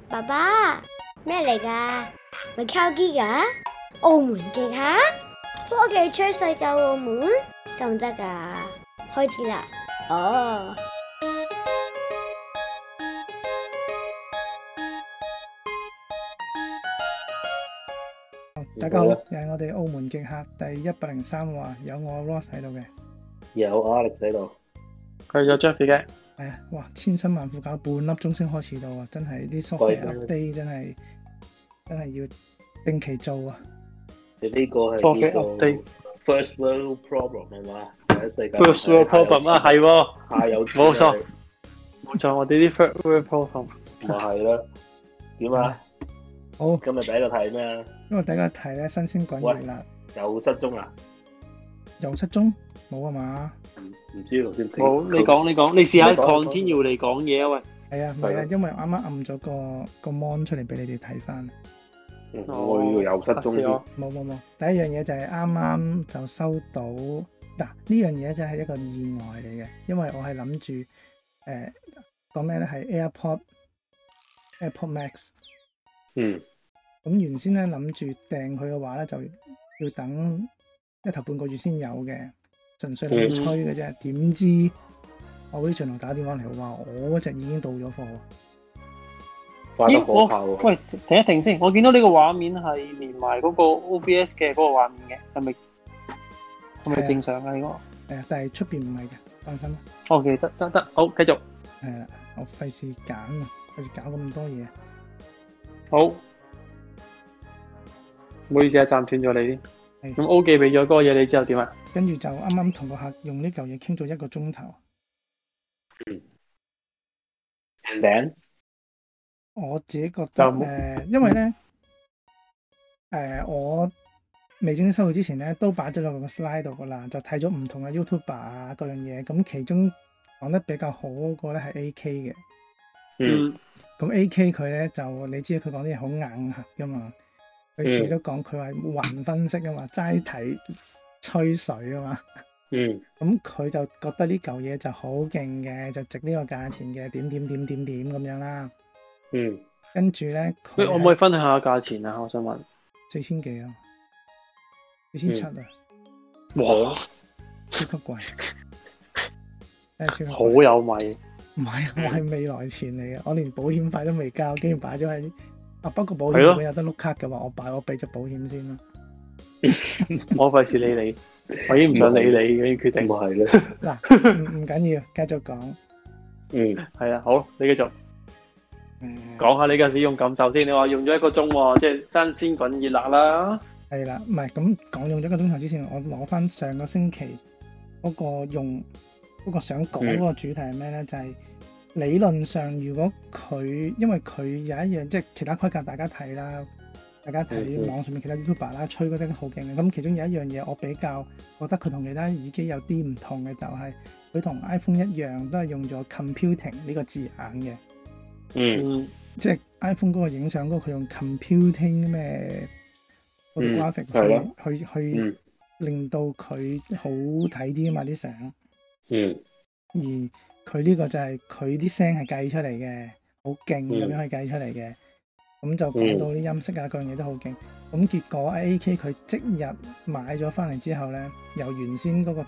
爸爸，咩嚟㗎？咪靠機㗎？澳門極客科技吹世界澳門得唔得㗎？開始啦！哦， 大家好，又係我哋澳門極客第103話，有我 Ross 喺度嘅， 有 Alex 喺度， 佢有 Jeffy 嘅。 係啊，哇，千辛萬苦搞半粒鐘先開始到啊，真係啲 software update 真係要定期做啊！ 你呢個係 software 叫做 update first world problem 係嘛？第一世界 first world problem 啊，係喎， 下有錢冇錯，冇錯，我哋啲 first world problem 咪係啦。點啊？ 好， 今日第一個題咩啊？ 因為第一個題咧新鮮滾熱辣， 又失蹤啦？ 又失蹤冇啊嘛？ 唔知頭先好，你講，你試下 continue 嚟講嘢啊喂。 係啊，唔係啊，因為啱啱撳咗個 mon 出嚟俾你哋睇翻。 我呢個又失蹤添。 冇，第一樣嘢就係啱啱就收到嗱，呢樣嘢真係一個意外嚟嘅，因為我係諗住講咩咧，係 AirPod Max。咁原先咧諗住訂佢嘅話咧，就要等一頭半個月先有嘅，純粹諗住吹嘅啫。點知我啲巡邏打電話嚟話，我嗰隻已經到咗貨。 快得可怕喎！ 喂，停一停先，我見到呢個畫面係連埋嗰個 OBS 嘅嗰個畫面嘅，係咪正常啊？呢個係啊，但係出邊唔係嘅，放心。 OK，得，好，繼續。 係啦，我費事揀啊，費事搞咁多嘢。 好，唔好意思啊，暫斷咗你先。咁 O 記俾咗嗰個嘢你之後點啊？ 跟住就啱啱同個客用呢嚿嘢傾咗1個鐘頭。 And then 我自己覺得因為咧我未正式收到之前咧，都擺咗落個 slide 度噶啦，就睇咗唔同嘅 YouTuber 啊各樣嘢，咁其中講得比較好嗰個咧係 AK 嘅。咁 AK 佢咧就你知佢講啲嘢好硬核噶嘛，佢自己都講佢話雲分析啊嘛，齋睇吹水啊嘛。咁佢就覺得呢嚿嘢就好勁嘅，就值呢個價錢嘅，點咁樣啦。跟住咧， 我可唔可以分享下價錢啊？我想問 4000幾啊，4700啊， 哇， 超級貴， 好有米。 唔係，我係未來錢嚟嘅，我連保險費都未交，竟然擺咗喺不過保險如果有得碌卡嘅話，我俾咗保險先咯。 我費事理你，我已經唔想理你嘅決定。 係咧。 嗱，唔緊要，繼續講。 係啊，好，你繼續。講下你嘅使用感受先。你話用咗1個鐘喎，即係新鮮滾熱辣啦。 係啦，唔係咁講用咗1個鐘頭之前，我攞翻上個星期嗰個用嗰個想講嗰個主題係咩咧？就係理論上，如果佢因為佢有一樣即係其他規格，大家睇啦，大家睇網上面其他 YouTuber 啦，吹嗰啲好勁嘅。咁其中有一樣嘢，我比較覺得佢同其他耳機有啲唔同嘅，就係佢同 iPhone 一樣，都係用咗 computing 呢個字眼嘅。即係 iPhone 嗰個影相嗰個，佢用 computing 咩 photographic 去令到佢好睇啲啊嘛啲相。而佢呢個就係佢啲聲係計出嚟嘅，好勁咁樣去計出嚟嘅。咁就講到啲音色啊，各樣嘢都好勁。咁結果 AK 佢即日買咗翻嚟之後咧，由原先嗰個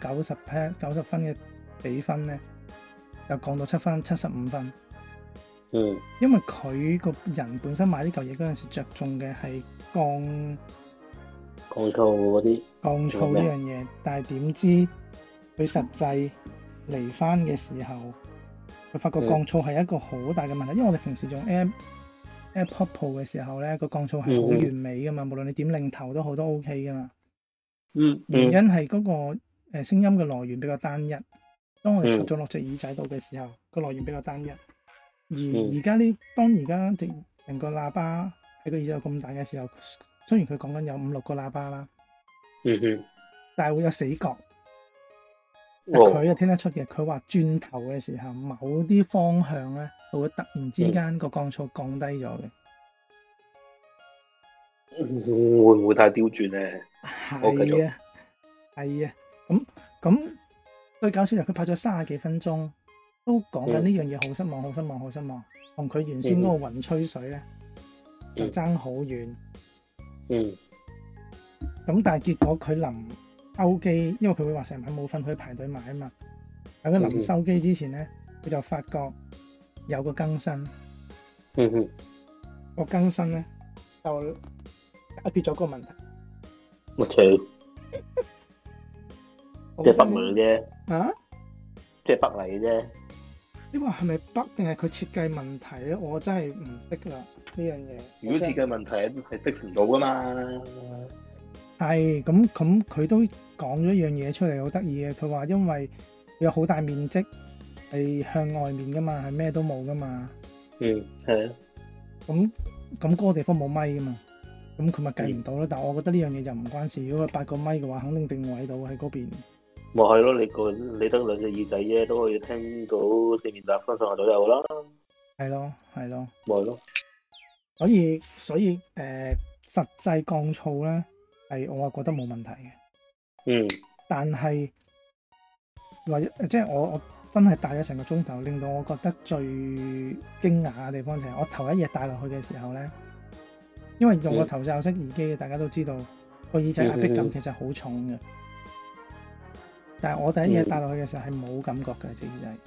90分嘅比分咧，就降到75分。因為佢個人本身買呢嚿嘢嗰陣時着重嘅係降噪嗰啲降噪呢樣嘢，但係點知佢實際嚟翻嘅時候，佢發覺降噪係一個好大嘅問題。因為我哋平時用 AirPod Pro 嘅時候咧，個降噪係好完美噶嘛，無論你點擰頭都好都 OK 噶嘛。原因係嗰個聲音嘅來源比較單一。當我哋插咗落隻耳仔度嘅時候，個來源比較單一。而家當而家成個喇叭喺個耳仔有咁大嘅時候，雖然佢講緊有5-6個喇叭啦，但係會有死角。佢就聽得出嘅，佢話轉頭嘅時候，某啲方向咧，會突然之間個降噪降低咗嘅。 會唔會太刁鑽咧？ 係啊，咁最搞笑就佢拍咗30幾分鐘。都都講緊呢樣嘢好失望，好失望，好失望，同佢原先嗰個雲吹水咧就爭好遠。咁但係結果佢臨收機，因為佢會話成晚冇瞓，佢排隊買啊嘛。喺佢臨收機之前咧，佢就發覺有個更新。個更新咧就解決咗個問題。 我操！即係北嚟啫。啊？即係北嚟嘅啫。 你話係咪北定係佢設計問題咧？我真係唔識啦呢樣嘢。 如果設計問題係 fix 唔到噶嘛？ 係咁佢都講咗一樣嘢出嚟，好得意嘅。佢話因為有好大面積係向外面噶嘛，係咩都冇噶嘛。 係啊。 咁嗰個地方冇咪噶嘛，咁佢咪計唔到咯。但係我覺得呢樣嘢就唔關事。如果佢8個咪嘅話，肯定定位到喺嗰邊。 咪係咯，你得兩隻耳仔啫，都可以聽到四面八方上下左右啦。 係咯。咪係咯。所以實際降噪咧係我係覺得冇問題嘅。但係即係我真係戴咗成個鐘頭，令到我覺得最驚訝嘅地方就係我頭一夜戴落去嘅時候咧，因為用個頭罩式耳機，大家都知道個耳仔壓迫感其實好重嘅。但係我第一夜戴落去嘅時候係冇感覺嘅隻耳仔。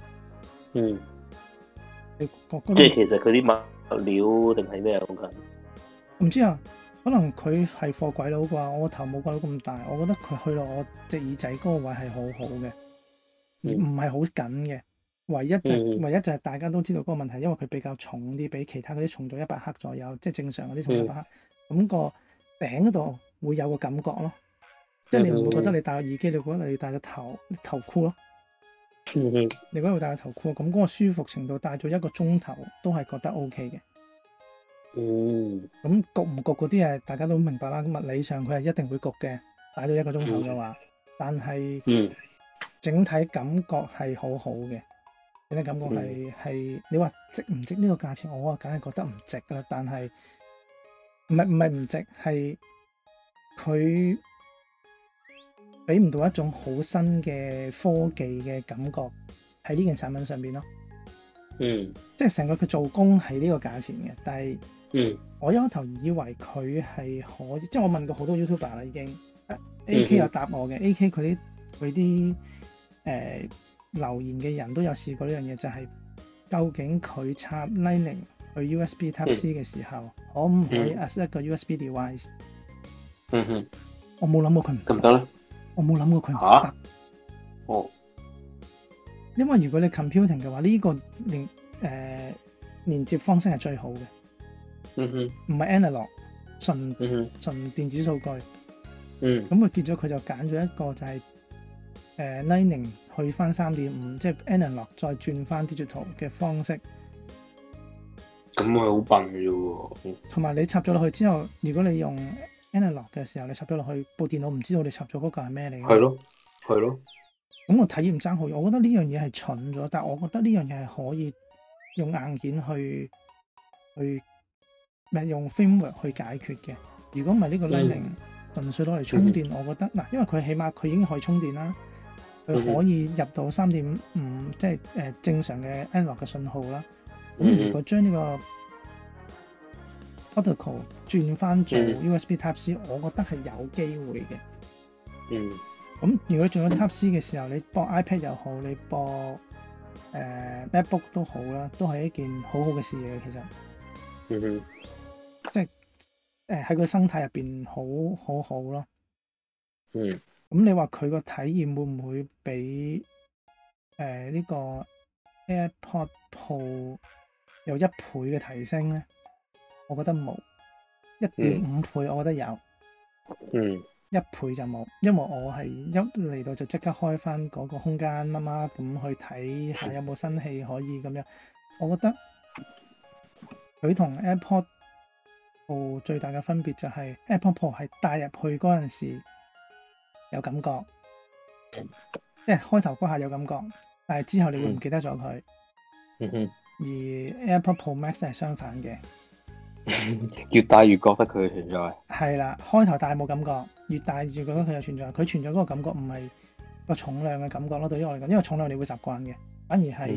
你覺得？ 即係其實佢啲物料定係咩啊？講緊唔知啊，可能佢係貨鬼佬啩。我個頭冇鬼佬咁大，我覺得佢去到我隻耳仔嗰個位係好好嘅。而唔係好緊嘅，唯一就係大家都知道嗰個問題，因為佢比較重啲，比其他嗰啲重咗100克左右，即係正常嗰啲重100克。咁個頂嗰度會有個感覺咯，即係你唔會覺得你戴個耳機，你覺得你戴個頭箍咯。你覺得會戴個頭箍，咁嗰個舒服程度戴咗1個鐘頭都係覺得 OK 嘅。咁焗唔焗嗰啲係大家都明白啦。咁物理上佢係一定會焗嘅，戴咗1個鐘頭嘅話，但係整體感覺係好好嘅，整體感覺係你話值唔值呢個價錢？我梗係覺得唔值啦。但係唔係唔值，係佢俾唔到一種好新嘅科技嘅感覺喺呢件產品上邊咯。即係成個佢做工係呢個價錢嘅，但係我一開頭以為佢係可以，即係我問過好多 YouTuber 啦已經，AK 有答我嘅，AK 佢啲留言嘅人都有試過呢樣嘢，就係究竟佢插 Lightning 去 USB Type C 嘅時候，可唔可以 as 一個 USB device？我冇諗過佢唔得咧。我冇諗過佢唔得。因為如果你 computing 嘅話，呢個連接方式係最好嘅。唔係 analog 純電子數據。咁佢結咗，佢就揀咗一個就係Lightning 去翻3.5，即係 analog 再轉翻 digital 嘅方式。 咁佢好笨嘅喎。同埋你插咗落去之後，如果你用 analog 嘅時候，你插咗落去，部電腦唔知道你插咗嗰個係咩嚟嘅。係咯。咁我體驗爭好遠，我覺得呢樣嘢係蠢咗，但係我覺得呢樣嘢係可以用硬件去用 firmware 去解決嘅。如果唔係呢個 Lightning 純粹攞嚟充電，我覺得嗱，因為佢起碼佢已經可以充電啦，佢可以入到3.5，即係正常嘅 analog 嘅信號啦。咁如果將呢個 protocol 轉翻做 USB Type C，我覺得係有機會嘅。咁如果轉咗 Type C 嘅時候，你播 iPad 又好，你播MacBook 都好啦，都係一件好好嘅事嚟嘅。其實，即係喺個生態入邊好好咯。咁你話佢個體驗會唔會比呢個 AirPod Pro 有1倍嘅提升咧？我覺得冇，1.5倍我覺得有。1倍就冇，因為我係一嚟到就即刻開翻嗰個空間乜乜咁去睇下有冇新戲可以咁樣。我覺得佢同 AirPod Pro 最大嘅分別就係 AirPod Pro 係帶入去嗰陣時有感覺，即係開頭嗰下有感覺，但係之後你會唔記得咗佢。而 AirPod Pro Max 係相反嘅。 越戴越覺得佢存在。 係啦，開頭戴冇感覺，越戴越覺得佢有存在。佢存在嗰個感覺唔係個重量嘅感覺咯，對於我嚟講，因為重量你會習慣嘅，反而係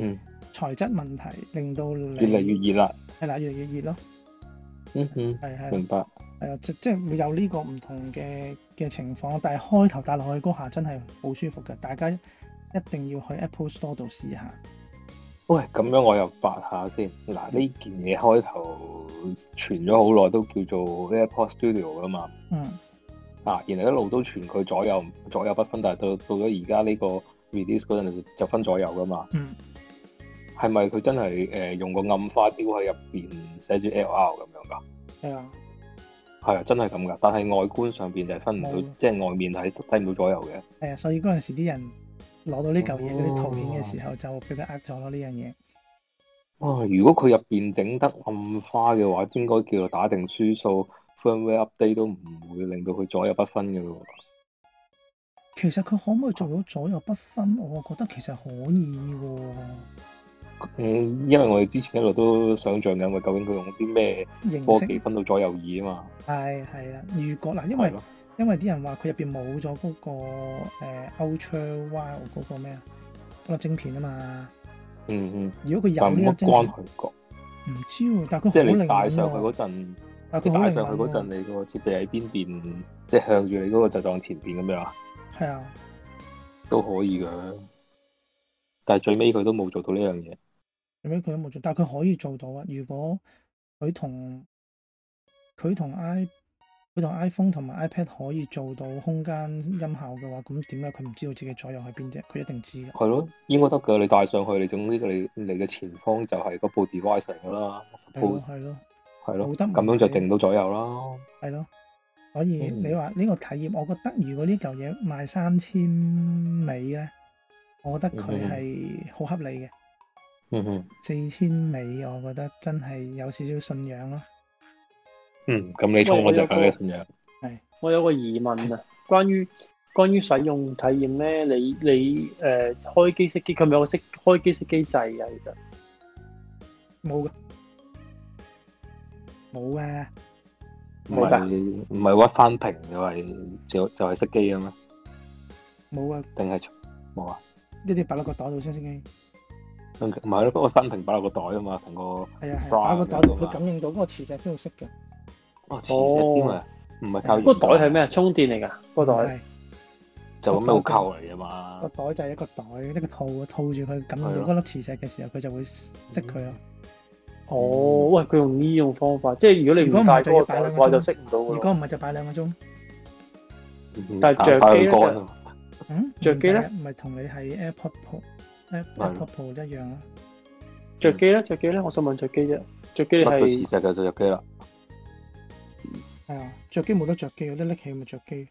材質問題，令到你越嚟越熱啦。 係啦，越嚟越熱咯。係明白。 係啊，即係會有呢個唔同嘅情況，但係開頭帶落去嗰下真係好舒服嘅，大家一定要去 Apple Store 度試下。 喂，咁樣我又發下先。嗱，呢件嘢開頭傳咗好耐，都叫做 AirPods Studio 噶嘛。然後一路都傳佢左右不分，但係到咗而家呢個 release 嗰陣就分左右噶嘛。係咪佢真係用個暗花雕喺入邊寫住 LR 咁樣㗎？ 係啊。 係啊，真係咁㗎。但係外觀上邊就係分唔到，即係外面係睇唔到左右嘅。 係啊，所以嗰陣時啲人攞到呢嚿嘢嗰啲圖片嘅時候，就俾佢呃咗咯呢樣嘢。 如果佢入邊整得暗花嘅話，應該叫做打定輸數 firmware update 都唔會令到佢左右不分嘅咯。 其實佢可唔可以做到左右不分？我覺得其實可以喎。 因為我哋之前一路都想像緊，佢究竟佢用啲咩科技分到左右耳啊嘛。係啦，如果嗱，因為啲人話佢入邊冇咗嗰個Ultra Wild 嗰個咩啊，嗰個晶片啊嘛。如果佢有呢個晶片，唔知喎，但係佢即係你帶上去嗰陣，你個設備喺邊邊，即係向住你嗰個就當前邊咁樣。係啊，都可以㗎。但係最尾佢都冇做到呢樣嘢。最尾佢都冇做，但係佢可以做到啊！如果佢同 iPhone 同埋 iPad 可以做到空間音效嘅話，咁點解佢唔知道自己左右喺邊啫？佢一定知嘅。係咯，應該得㗎。你帶上去，你總之你嘅前方就係嗰部 device 嚟㗎啦。係咯，冇得咁樣就定到左右啦。係咯，所以你話呢個體驗，我覺得如果呢嚿嘢賣3000美咧，我覺得佢係好合理嘅。4000美，我覺得真係有少少信仰咯。咁你充我就梗係信仰。係，我有個疑問啊，關於使用體驗咧，你開機熄機，佢咪有個開機熄機掣啊？其實冇噶，冇嘅，冇噶，唔係屈翻屏就係熄機啊咩？冇啊，定係冇啊？一定要擺落個袋度先熄機。唔係咯，不過分屏擺落個袋啊嘛，成個係啊，擺個袋度，佢感應到嗰個磁石先會熄嘅。磁石添啊，唔係靠。嗰個袋係咩啊？充電嚟㗎，嗰個袋就咁樣扣嚟㗎嘛。個袋就係一個袋，一個套住佢，感應到嗰粒磁石嘅時候，佢就會熄佢咯。喂，佢用呢種方法，即係如果你唔帶嗰個袋嘅話，就熄唔到㗎。如果唔係就擺2個鐘。但係着機咧着機咧，唔係同你係 AirPod Pro 一樣咯。着機咧，我想問着機啫。着機係磁石就着機啦。係啊，着機冇得着機，有得拎起咪着機。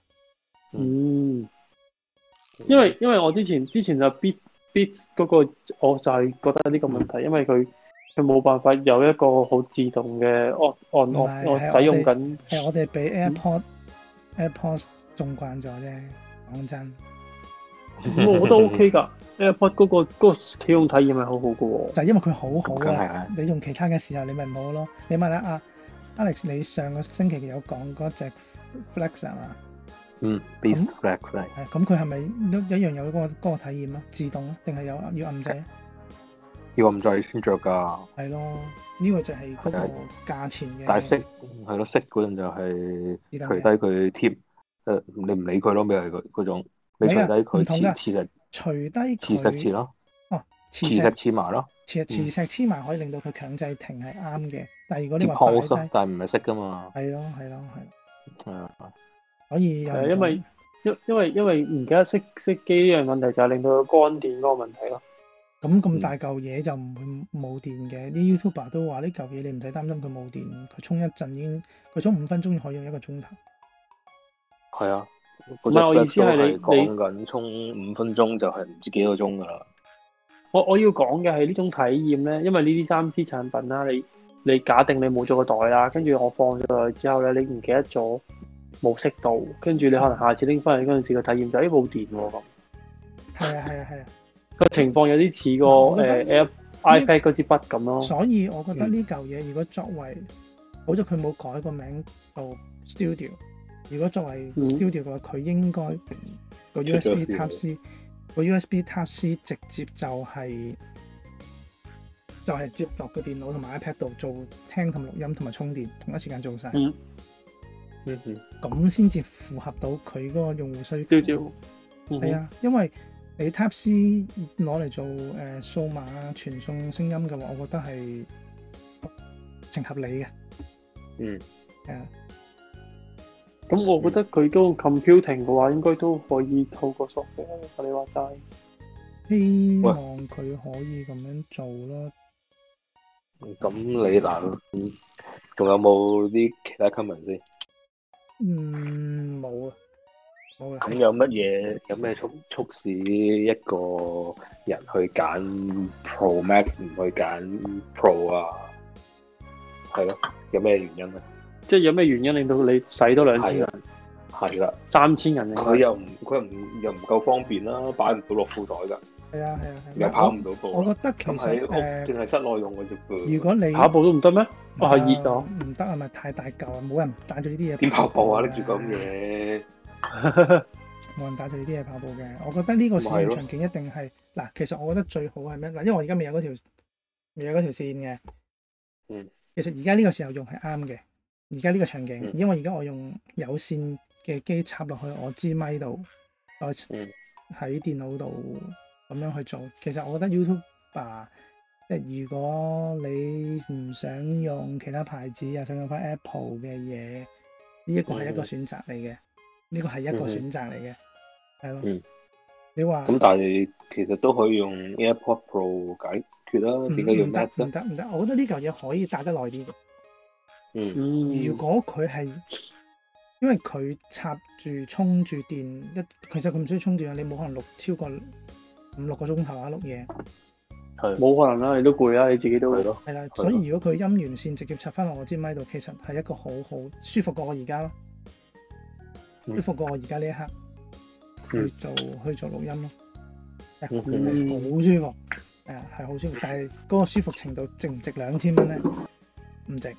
因為我之前就 Beats 嗰個，我就係覺得呢個問題，因為佢冇辦法有一個好自動嘅我使用緊。係我哋俾 AirPods 縱慣咗啫，講真。我覺得 OK 㗎。AirPod 嗰個使用體驗係好好嘅喎，就係因為佢好好啊！你用其他嘅時候你咪唔好咯。你問下Alex，你上個星期有講嗰隻 Flex 係嘛？Beats Flex 係。咁佢係咪一樣有嗰個體驗啊？自動啊，定係要撳掣啊？要撳掣先着㗎。係咯，呢個就係嗰個價錢嘅。但係熄係咯，熄嗰陣就係除低佢貼，你唔理佢咯，咪係嗰種。你除低佢磁石。除低佢磁石黐咯，磁石黐埋咯，磁石黐埋可以令到佢強制停係啱嘅。但係如果你話擺低，但係唔係熄噶嘛。係咯。係啊，可以。因為唔記得熄機呢樣問題，就係令到佢乾電嗰個問題咯。咁大嚿嘢就唔會冇電嘅。啲 YouTuber 都話呢嚿嘢你唔使擔心佢冇電，佢充一陣已經，佢充5分鐘可以用1個鐘頭。係啊。唔係，我意思係你講緊充5分鐘就係唔知幾個鐘噶啦。我要講嘅係呢種體驗咧，因為呢啲3C 產品啦，你假定你冇咗個袋啦，跟住我放咗落去之後咧，你唔記得咗冇熄到，跟住你可能下次拎翻嚟嗰陣時個體驗就冇電喎咁。係啊，個情況有啲似個iPad 嗰支筆咁咯。所以我覺得呢嚿嘢如果作為，好咗佢冇改個名做 Studio。如果作為 Studio 嘅話，佢應該個 USB Type C 直接就係就係接落個電腦同埋 iPad 度做聽同錄音同埋充電，同一時間做晒。咁先至符合到佢嗰個用戶需求。係啊，因為你 Type C 攞嚟做數碼傳送聲音嘅話，我覺得係情合理嘅。係啊。 咁我覺得佢嗰個 computing 嘅話，應該都可以透過 software。你話齋， 希望佢可以咁樣做咯。 咁你嗱，仲有冇啲其他 comment 先？ 冇啊，冇啊。 咁有咩促使一個人去揀 Pro Max 唔去揀 Pro 啊？係咯，有咩原因咧？ 即係有咩原因令到你使多2000人？ 係啦 ，3000人。 佢又唔夠方便啦，擺唔到落褲袋㗎。 係啊， 又跑唔到步。 我覺得其實淨係室內用嘅啫噃。 如果你跑步都唔得咩？係熱啊！ 唔得啊，咪太大嚿啊！冇人帶住呢啲嘢。 點跑步啊？拎住咁嘢， 冇人帶住呢啲嘢跑步嘅。我覺得呢個使用場景一定係嗱，其實我覺得最好係咩嗱？因為我而家未有嗰條線嘅。其實而家呢個時候用係啱嘅。而家呢個場景，因為而家我用有線嘅機插落去我支咪度，我喺電腦度咁樣去做。其實我覺得 YouTuber 即係如果你唔想用其他牌子，又想用翻 Apple 嘅嘢，呢一個係一個選擇嚟嘅。呢個係一個選擇嚟嘅，係咯。你話咁，但係其實都可以用 AirPod Pro 解決啦。點解要 Max？ 唔得，我覺得呢嚿嘢可以帶得耐啲嘅。如果佢係因為佢插住充住電其實佢唔需要充電啊！你冇可能錄超過5-6個鐘頭啊，錄嘢係冇可能啦，你都攰啦，你自己都係啦。所以如果佢音源線直接插翻落我支咪度，其實係一個好舒服過我而家咯，舒服過我而家呢一刻去做錄音咯，好舒服，係好舒服。但係嗰個舒服程度值唔值2000蚊咧？唔值。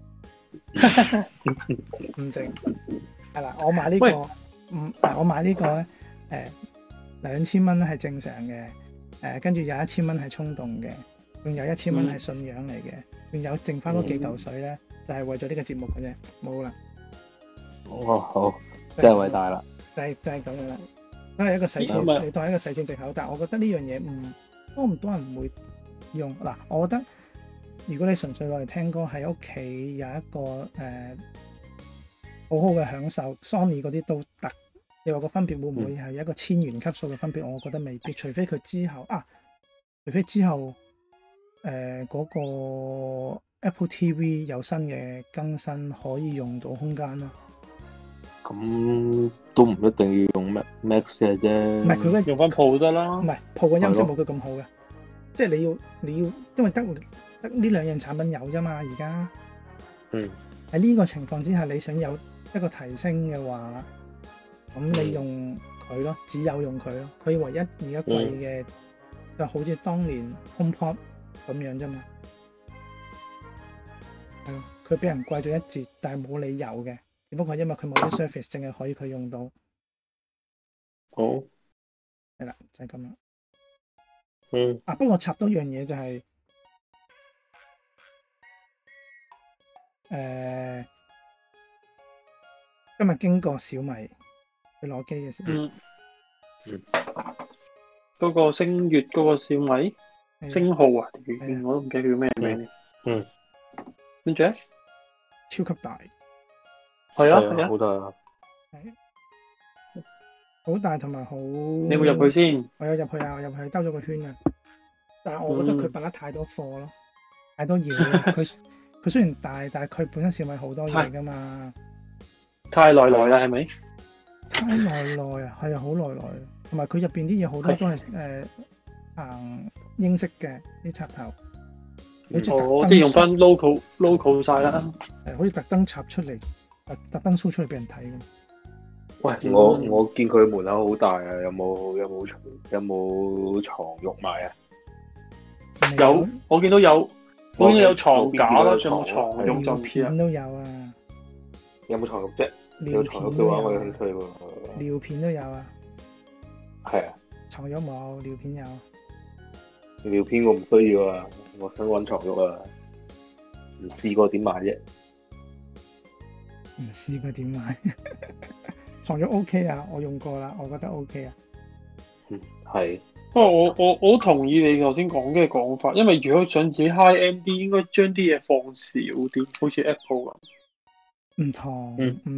唔值係啦，我買呢個我買呢個咧，2000蚊係正常嘅，跟住有1000蚊係衝動嘅，仲有1000蚊係信仰嚟嘅，仲有剩翻嗰幾嚿水咧，就係為咗呢個節目嘅啫，冇啦。 好，真係偉大啦， 就係咁樣啦，都係一個使錢，你當係一個使錢藉口，但係我覺得呢樣嘢多唔多人會用嗱，我覺得。如果你純粹攞嚟聽歌，喺屋企有一個好好嘅享受 ，Sony 嗰啲都得。你話個分別會唔會係一個1000元級數嘅分別？我覺得未必，除非佢之後嗰個 Apple TV 有新嘅更新，可以用到空間咯。 咁都唔一定要用 Max 嘅啫。唔係佢用翻 Pro 得啦。唔係 Pro 嘅音色冇佢咁好嘅，即係你要，因為得呢兩樣產品有啫嘛，而家喺呢個情況之下，你想有一個提升嘅話，咁你用佢咯，只有用佢咯。佢唯一而家貴嘅就好似當年 HomePod 咁樣啫嘛，係咯，佢俾人貴咗一截，但係冇理由嘅，只不過因為佢冇啲 service 淨係可以佢用到。 好， 係啦，就係咁啦。不過插多樣嘢就係。今日經過小米去攞機嘅時候， 嗰個星月嗰個小米星號啊，我都唔記得叫咩名。跟住咧， 超級大， 係啊， 好大， 好大同埋好。 你有冇入去先？ 我有入去啊，我入去兜咗個圈啊。但係我覺得佢擺得太多貨咯，太多嘢。佢雖然大，但係佢本身小米好多嘢噶嘛。 太耐啦，係咪？ 太耐啊，係啊，好耐。同埋佢入邊啲嘢好多都係行英式嘅啲插頭， 即係用翻 local 晒啦。 好似特登插出嚟，特登 show 出嚟俾人睇咁。 喂，我見佢門口好大啊，有冇床褥賣啊？ 有，我見到有。好似有床架啦，仲有冇床褥就片都有啊。 有冇床褥啫？有床褥嘅話，我有興趣喎。 尿片都有啊。 係啊。 床褥冇，尿片有。 尿片我唔需要啊。 我想揾床褥啊，唔試過點買啫？ 唔試過點買？床褥 OK 啊，我用過啦，我覺得 OK 啊。 係。 不過我好同意你頭先講嘅講法，因為如果想自己 high end 啲，應該將啲嘢放少啲，好似 Apple 咁。唔同，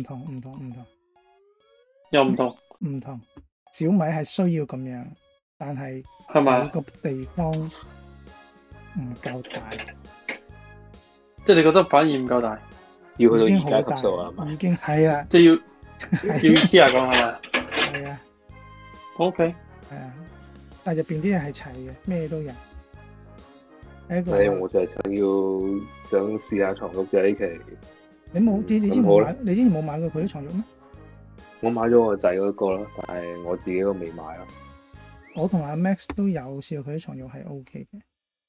又唔同。 小米係需要咁樣，但係係咪個地方唔夠大？ 即係你覺得反而唔夠大？ 要去到而家級數啊嘛？ 已經係啦， 即係要試下講係咪？ 係啊。 OK。 係啊，但係入邊啲嘢係齊嘅，咩都有。 我就係想試下床褥啫呢期。 你之前冇買過佢啲床褥咩？ 我買咗我仔嗰個啦，但係我自己都未買咯。 我同阿 Max 都有試過佢啲床褥係 OK 嘅。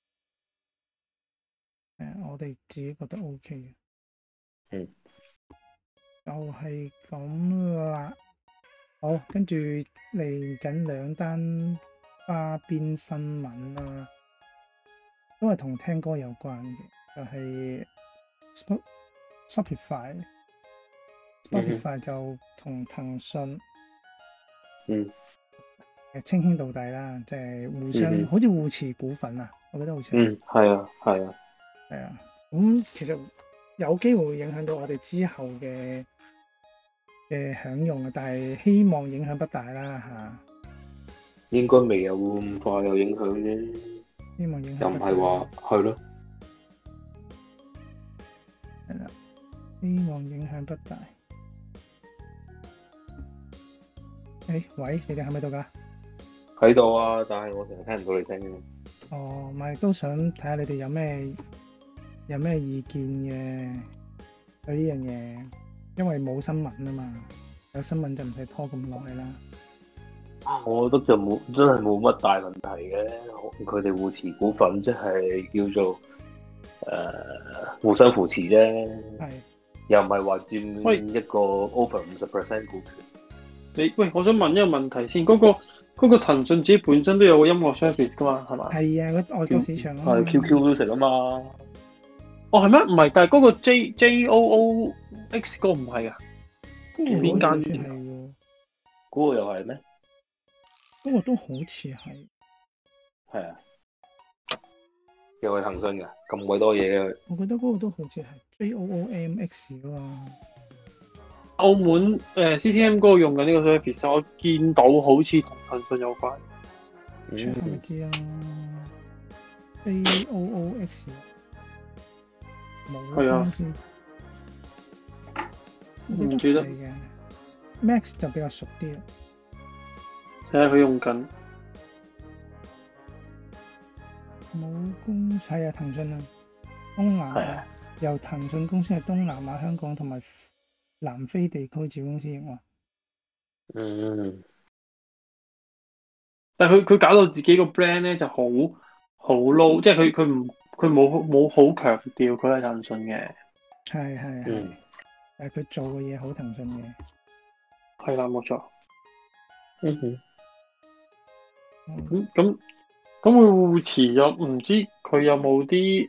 我哋自己覺得 OK 嘅。就係咁啦。好，跟住嚟緊2單花邊新聞啦，都係同聽歌有關嘅，就係 Spotify 就同騰訊稱兄道弟啦，即係互相好似互持股份啊，我覺得好似係啊。 咁其實有機會影響到我哋之後嘅享用啊，但係希望影響不大啦嚇。 應該未有咁快有影響啫。 希望影響又唔係話係咯。 係啦，希望影響不大。喂，你哋喺咪度㗎？ 喺度啊，但係我成日聽唔到你聲嘅。 哦，咪都想睇下你哋有咩意見嘅對呢樣嘢，因為冇新聞啊嘛，有新聞就唔使拖咁耐啦。 我覺得就真係冇乜大問題嘅，佢哋互持股份即係叫做互相扶持啫。係，又唔係話佔一個 over 50% 股權。 我想問一個問題先，嗰個騰訊自己本身都有個音樂 service 噶嘛，係嘛？ 係啊，外國市場啊。 係 QQ Music 啊嘛。 哦，係咩？唔係，但係嗰個 JOOX 嗰個唔係啊。邊間先係？ 嗰個又係咩？ 嗰個都好似係。 係啊。又係騰訊㗎，咁鬼多嘢嘅。 我覺得嗰個都好似係 JOOMX 啊嘛。 澳門CTM 嗰個用緊呢個 service， 我見到好似同騰訊有關。 唔知啊。JOOX 冇公司。 唔記得。 Max 就比較熟啲啦。 睇下佢用緊。 冇公司係啊，騰訊啊，東南亞由騰訊公司係東南亞、香港同埋南非地區子公司營運。 但係佢搞到自己個 brand 咧就好 low， 即係佢冇好強調佢係騰訊嘅。 係。但係佢做嘅嘢好騰訊嘅。 係啦，冇錯。咁會互持咗，唔知佢有冇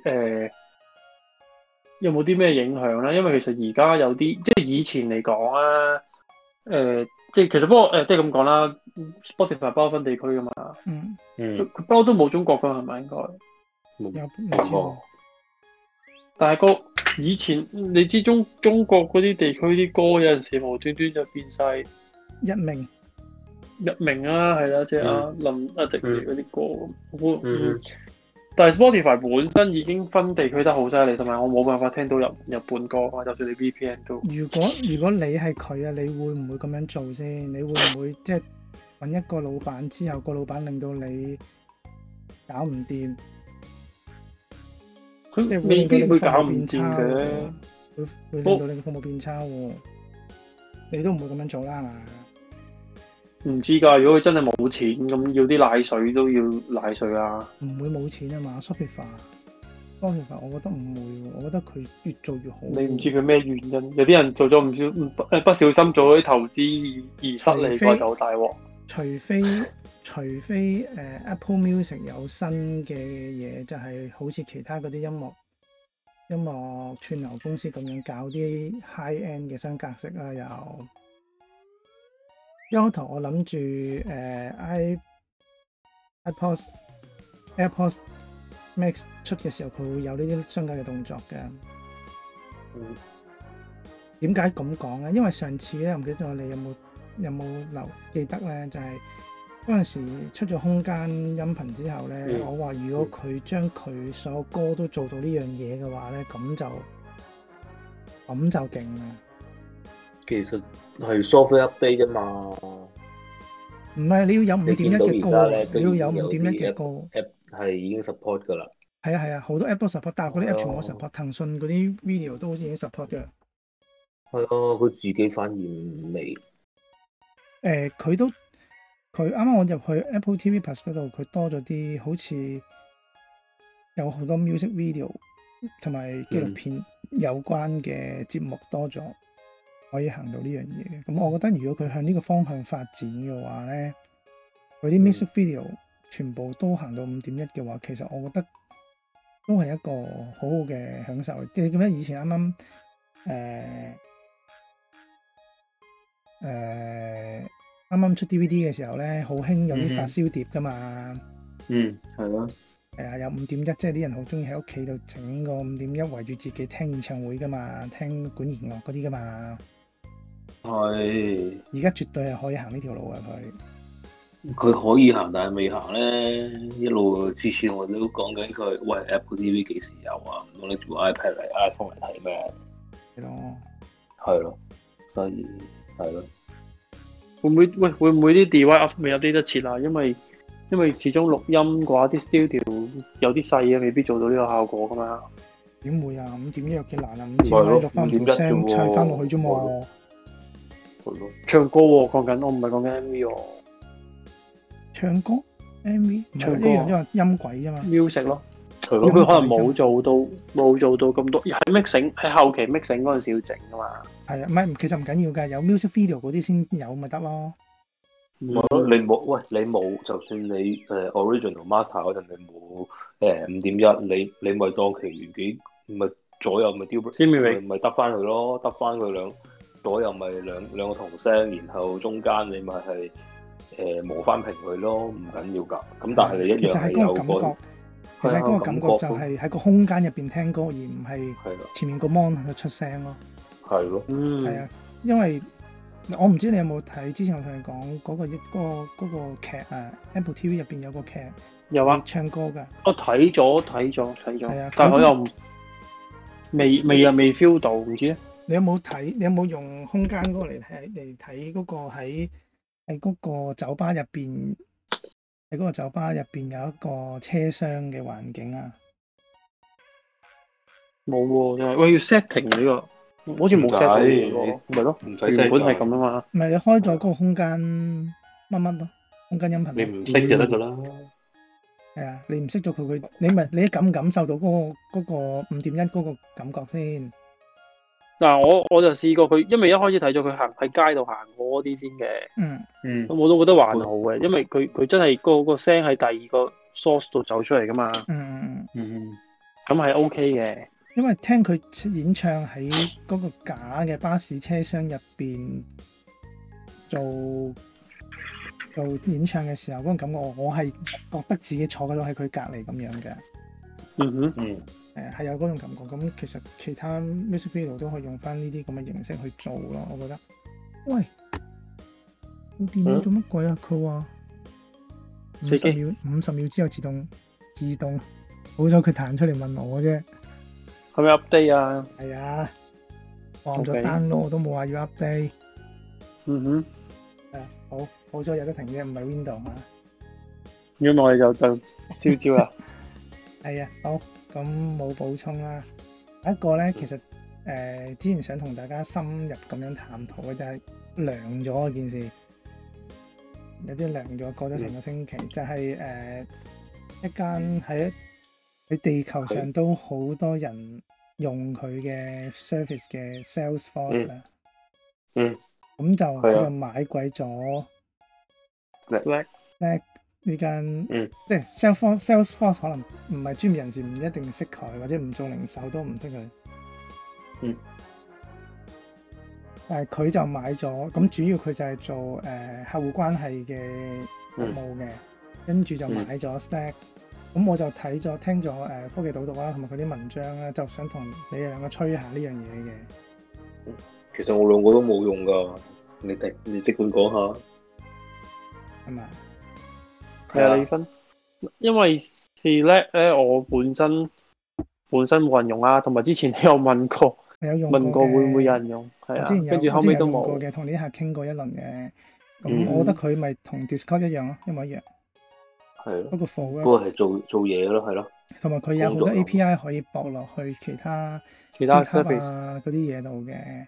啲咩影響咧？因為其實而家有啲，即係以前嚟講啊，即係其實不過即係咁講啦 ，Spotify 包分地區噶嘛，佢不嬲都冇中國分係咪應該？ 冇。 但係以前你知中國嗰啲地區啲歌有陣時無端端就變晒一鳴啊，係啦，即係阿林阿植嚟嗰啲歌但係 Spotify 本身已經分地區得好犀利，同埋我冇辦法聽到日本歌啊，就算你 VPN 都。如果你係佢啊，你會唔會咁樣做先？你會唔會即係揾一個老闆之後，個老闆令到你搞唔掂？ 佢未必會搞唔掂嘅， 會令到你嘅服務變差喎。你都唔會咁樣做啦，係嘛？唔知㗎，如果佢真係冇錢，咁要啲奶水都要奶水啊！ 唔會冇錢啊嘛 ，Spotify 我覺得唔會喎，我覺得佢越做越好。 你唔知佢咩原因？有啲人做咗唔小心做咗啲投資而失利過就大鑊。 除非除非Apple Music 有新嘅嘢，就係好似其他嗰啲音樂串流公司咁樣搞啲 high end 嘅新格式啦。又一開頭我諗住AirPods Max 出嘅時候，佢會有呢啲新嘅動作嘅。點解咁講咧？因為上次咧，唔記得咗你有冇記得咧？就係嗰陣時出咗空間音頻之後咧，我話如果佢將佢所有歌都做到呢樣嘢嘅話咧，咁就勁啦。其實係 software update 啫嘛。 唔係，你要有5.1嘅歌，你要有5.1嘅歌。 app 係已經 support 噶啦。係啊，好多 app 都 support，但係嗰啲 app 全部 support。騰訊嗰啲 video 都好似已經 support 嘅。 係啊，佢自己反而未。 佢啱啱我入去 Apple TV Plus 嗰度，佢多咗啲，好似有好多 music video 同埋紀錄片有關嘅節目多咗，可以行到呢樣嘢。咁我覺得如果佢向呢個方向發展嘅話咧，佢啲 music video 全部都行到5.1嘅話，其實我覺得都係一個好好嘅享受。你記得以前啱啱出 DVD 嘅時候咧，好興有啲發燒碟噶嘛。 係咯。 係啊，有5.1，即係啲人好中意喺屋企度整個5.1圍住自己聽演唱會噶嘛，聽管弦樂嗰啲噶嘛。 係。 而家絕對係可以行呢條路啊！ 佢可以行，但係未行咧。一路次次我都講緊佢，喂 Apple TV 幾時有啊？唔通拎住部 iPad 嚟 iPhone 嚟睇咩？係咯。係咯。所以係咯。 會唔會啲 device 未 update 得切啊？因為始終錄音嘅話，啲 studio 有啲細嘅，未必做到呢個效果噶嘛。 點會啊？5.1有幾難啊？5千米錄翻條聲砌翻落去啫嘛。 唱歌喎，講緊我唔係講緊 MV 喎。 唱歌 MV 唱歌一樣，因為音軌啫嘛。 music 咯。咁佢可能冇做到咁多，喺 mixing 喺後期 mixing 嗰陣時要整噶嘛。 係啊，唔係其實唔緊要㗎，有 music video 嗰啲先有咪得咯。 你冇，就算你original master 嗰陣你冇5.1，你咪當其餘幾咪左右咪 delete 咪得翻佢咯，得翻佢左右咪兩個同聲，然後中間你咪係磨翻平佢咯，唔緊要㗎。咁但係你一樣係有個。 其實嗰個感覺就係喺個空間入邊聽歌，而唔係前面個 mon 喺度出聲咯。 係咯， 係啊，因為我唔知你有冇睇，之前我同你講嗰個劇啊 ，Apple TV 入邊有個劇有啊， 唱歌㗎。 我睇咗， 係啊， 但係我又未 feel 到，唔知咧。 你有冇睇？你有冇用空間嗰個嚟睇嗰個喺嗰個酒吧入邊？喺嗰個酒吧入邊有一個車廂嘅環境啊， 冇喎，喂要 setting 呢個，好似冇 set 到喎，咪咯，原本係咁啊嘛。 唔係你開咗嗰個空間乜乜咯，空間音頻。 你唔識就得噶啦。 係啊，你唔識咗佢，你感唔感受到嗰個5.1嗰個感覺先？ 嗱，我就試過佢，因為一開始睇咗佢行喺街度行過嗰啲先嘅，咁我都覺得還好嘅，因為佢真係個聲喺第二個 source 度走出嚟噶嘛，咁係 OK 嘅。 因為聽佢演唱喺嗰個假嘅巴士車廂入邊做演唱嘅時候，嗰種感覺我係覺得自己坐咗喺佢隔離咁樣嘅。係有嗰種感覺，咁其實其他 music video 都可以用翻呢啲咁嘅形式去做咯，我覺得。喂，我電腦做乜鬼啊？佢話50秒之後自動，好彩佢彈出嚟問我啫。 係咪 update 啊？ 係啊，放咗 download 我都冇話要 update。好彩有得停啫，唔係 Windows 嘛。 如果我哋就招啦。 係啊，好。咁冇補充啦。一個咧，其實之前想同大家深入咁樣探討嘅就係涼咗件事，有啲涼咗過咗成個星期，就係一間喺地球上都好多人用佢嘅 service 嘅 Salesforce 啦。咁就買貴咗呢間，即係 Salesforce 可能唔係專業人士唔一定識佢，或者唔做零售都唔識佢。但係佢就買咗，咁主要佢就係做客戶關係嘅服務嘅，跟住就買咗 Slack。咁我就睇咗聽咗科技導讀啦，同埋佢啲文章啦，就想同你哋兩個吹下呢樣嘢嘅。 其實我兩個都冇用噶，你即管講下。 係咪？ 係啊，你分，因為 Slack 咧，我本身冇人用啊，同埋之前你有問過，問過會唔會有人用，係啊，跟住後尾都冇嘅，同呢啲客傾過一輪嘅。咁我覺得佢咪同 Discord 一樣咯，一模一樣。 係咯， 不過係做嘢咯，係咯。同埋佢有好多 API 可以駁落去其他 service 啊嗰啲嘢度嘅。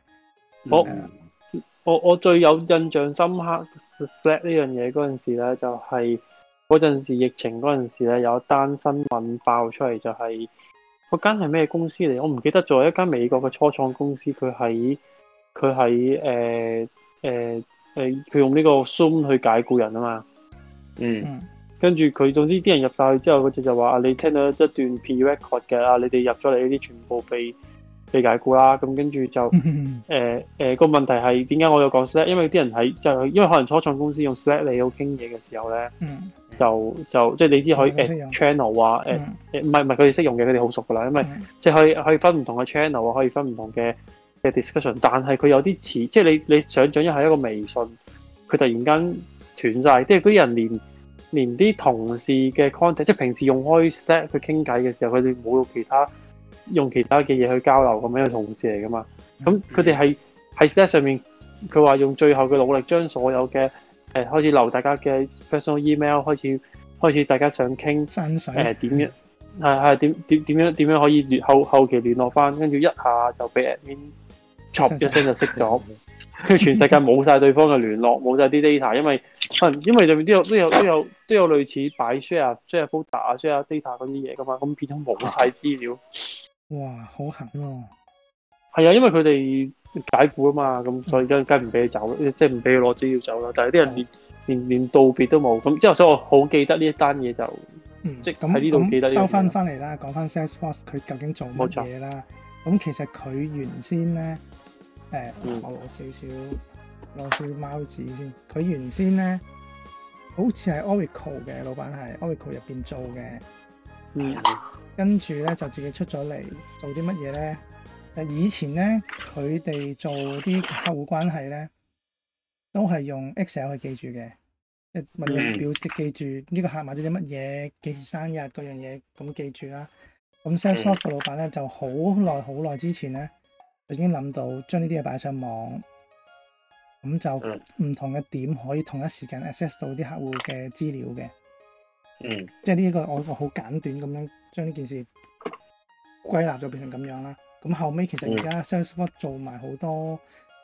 我最有印象深刻 Slack 呢樣嘢嗰陣時咧，就係嗰陣時疫情嗰陣時咧，有一單新聞爆出嚟，就係嗰間係咩公司嚟？我唔記得咗，一間美國嘅初創公司，佢喺佢用呢個 Zoom 去解僱人啊嘛。跟住佢，總之啲人入晒去之後，佢就話：你聽到一段 pre-record 嘅你哋入咗嚟呢啲全部被解僱啦。咁跟住就個問題係點解我有講 Slack？ 因為啲人喺因為可能初創公司用 Slack 嚟到傾嘢嘅時候咧，就即係你知可以 channel 啊唔係佢哋識用嘅，佢哋好熟噶啦。因為即係可以分唔同嘅 channel 啊，可以分唔同嘅 discussion。但係佢有啲似，即係你想象一下一個微信，佢突然間斷晒，即係嗰啲人連啲同事嘅 contact， 即係平時用開 Slack 去傾偈嘅時候，佢哋冇用其他嘅嘢去交流咁樣嘅同事嚟噶嘛。咁佢哋喺 Slack 上面，佢話用最後嘅努力將所有嘅開始留大家嘅 personal email， 開始大家想傾點樣點樣可以後期聯絡翻，跟住一下就俾 admin chop 一聲就熄咗。跟住全世界冇晒對方嘅聯絡，冇晒啲 data， 因為入面都有類似擺 share folder 啊 share data 嗰啲嘢噶嘛，咁變咗冇晒資料。 哇，好狠喎！ 係啊，因為佢哋解僱啊嘛，咁所以梗唔俾你走，即係唔俾佢攞資料走啦。但係啲人連道別都冇，咁之後所以我好記得呢一單嘢就，即係喺呢度記得呢。 兜翻嚟啦，講翻 Salesforce 佢究竟做乜嘢啦？咁其實佢原先咧。我攞少貓紙先。佢原先咧，好似係 Oracle 嘅老闆，係 Oracle 入邊做嘅。跟住咧就自己出咗嚟做啲乜嘢咧？以前咧佢哋做啲客戶關係咧，都係用 Excel 去記住嘅，即係問人表記住呢個客買咗啲乜嘢，幾時生日嗰樣嘢咁記住啦。咁 Salesforce 嘅老闆咧就好耐之前咧，已經諗到將呢啲嘢擺上網，咁就唔同嘅點可以同一時間 access 到啲客戶嘅資料嘅。即係呢個我好簡短咁樣將呢件事歸納咗變成咁樣啦。咁後尾其實而家 Salesforce 做埋好多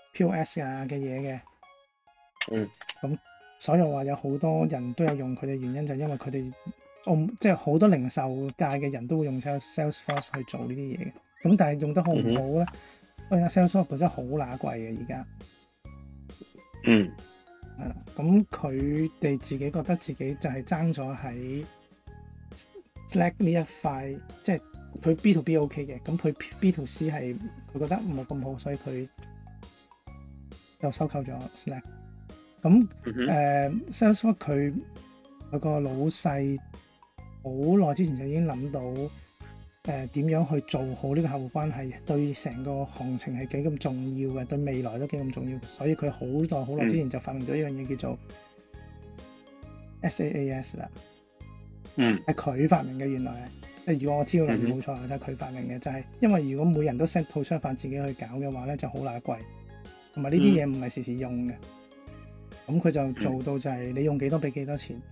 POS 啊嘅嘢嘅。咁所以話有好多人都有用佢哋，原因就係因為佢哋即係好多零售界嘅人都會用 Salesforce 去做呢啲嘢嘅。咁但係用得好唔好咧？因為 Salesforce 本身好乸貴嘅而家。係啦，咁佢哋自己覺得自己就係爭咗喺 Slack 呢一塊，即係佢 B to B OK 嘅，咁佢 B to C 係佢覺得冇咁好，所以佢就收購咗 Slack。咁Salesforce 佢個老細好耐之前就已經諗到點樣去做好呢個客戶關係，對成個行情係幾咁重要嘅，對未來都幾咁重要，所以佢好耐之前就發明咗一樣嘢叫做 SaaS 啦。係佢發明嘅，原來如果我知道冇錯，就係佢發明嘅，就係因為如果每人都 set 套商法自己去搞嘅話咧，就好乸貴，同埋呢啲嘢唔係時時用嘅。咁佢就做到就係你用幾多俾幾多錢。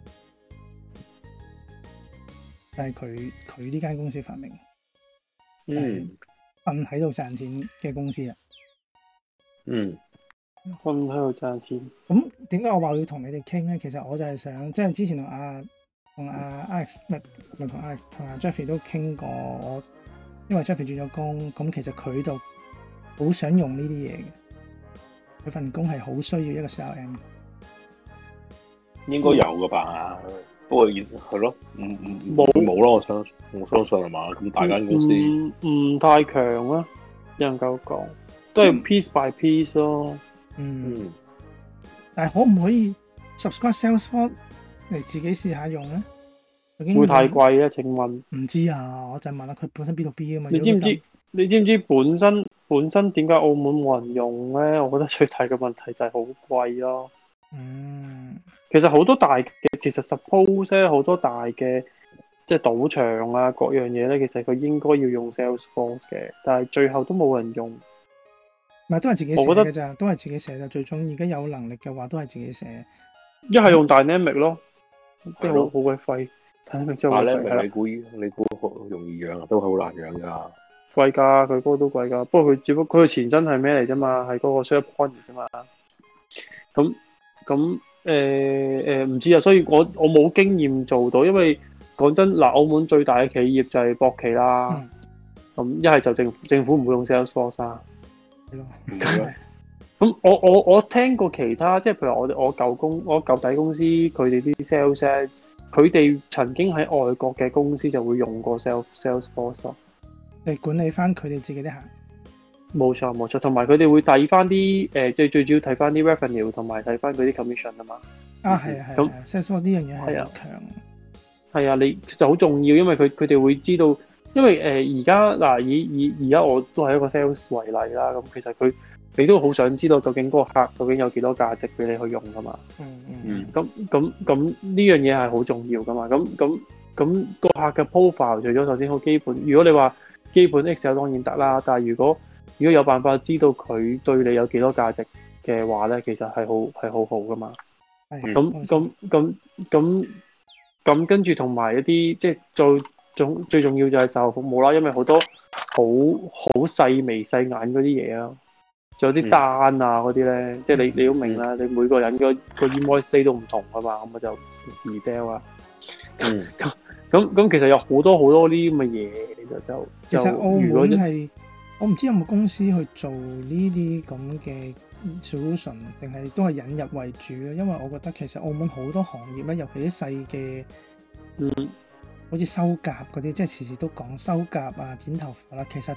係佢呢間公司發明，瞓喺度賺錢嘅公司啊。瞓喺度賺錢。咁點解我話要同你哋傾咧？其實我就係想，即係之前同阿 Alex 同阿 Jeffrey 都傾過，因為 Jeffrey 轉咗工，咁其實佢就好想用呢啲嘢嘅。佢份工係好需要一個 CRM。 應該有噶吧？ 不過係咯，冇咯，我相信係嘛？咁大間公司唔太強啦，只能夠講都係 piece by piece 咯。 但係可唔可以 subscribe Salesforce 嚟自己試下用咧？ 會太貴咧？請問？ 唔知啊，我就問下佢本身 B2B 啊嘛。 你知唔知？你知唔知本身點解澳門冇人用咧？我覺得最大嘅問題就係好貴咯。其實好多大嘅，其實 suppose 咧好多大嘅即係賭場啊各樣嘢咧，其實佢應該要用 Salesforce 嘅，但係最後都冇人用。 唔係都係自己寫嘅咋，都係自己寫嘅。最終而家有能力嘅話，都係自己寫。 一係用 Dynamic 咯，即係好鬼廢。 Dynamic 你估好容易養啊？都好難養噶。 貴㗎，佢嗰個都貴㗎。不過佢只不過佢嘅前身係咩嚟啫嘛？係嗰個 SharePoint 啫嘛。咁唔知啊，所以我冇經驗做到，因為講真嗱，澳門最大嘅企業就係博企啦。咁一係就政府唔會用 Salesforce 啦。咁我聽過其他，即係譬如我舊底公司佢哋啲 sales， 佢哋曾經喺外國嘅公司就會用過 Salesforce 咯。 嚟管理翻佢哋自己啲客。 冇錯，同埋佢哋會睇翻啲最主要睇翻啲 revenue 同埋睇翻佢啲 commission 啊嘛。係啊。咁 Salesforce 呢樣嘢係好強。係啊，你其實好重要，因為佢哋會知道，因為而家嗱而家我都係一個 sales 為例啦。咁其實你都好想知道究竟嗰個客究竟有幾多價值俾你去用噶嘛。咁呢樣嘢係好重要噶嘛。咁個客嘅 profile 除咗首先好基本，如果你話基本 Excel 當然得啦，但係如果有辦法知道佢對你有幾多價值嘅話咧，其實係好好噶嘛。咁跟住同埋一啲即係最重要就係售後服務啦，因為好多好細眉細眼嗰啲嘢啊，仲有啲單啊嗰啲咧，即係你都明啦，你每個人個 invoice day 都唔同噶嘛，咁我就時 sell 啊。咁其實有好多呢啲咁嘅嘢， 其實澳門係我唔知有冇公司去做呢啲咁嘅 solution， 定係都係引入為主咯。因為我覺得其實澳門好多行業咧，尤其啲細嘅，好似修甲嗰啲，即係時時都講修甲啊、剪頭髮啦，其實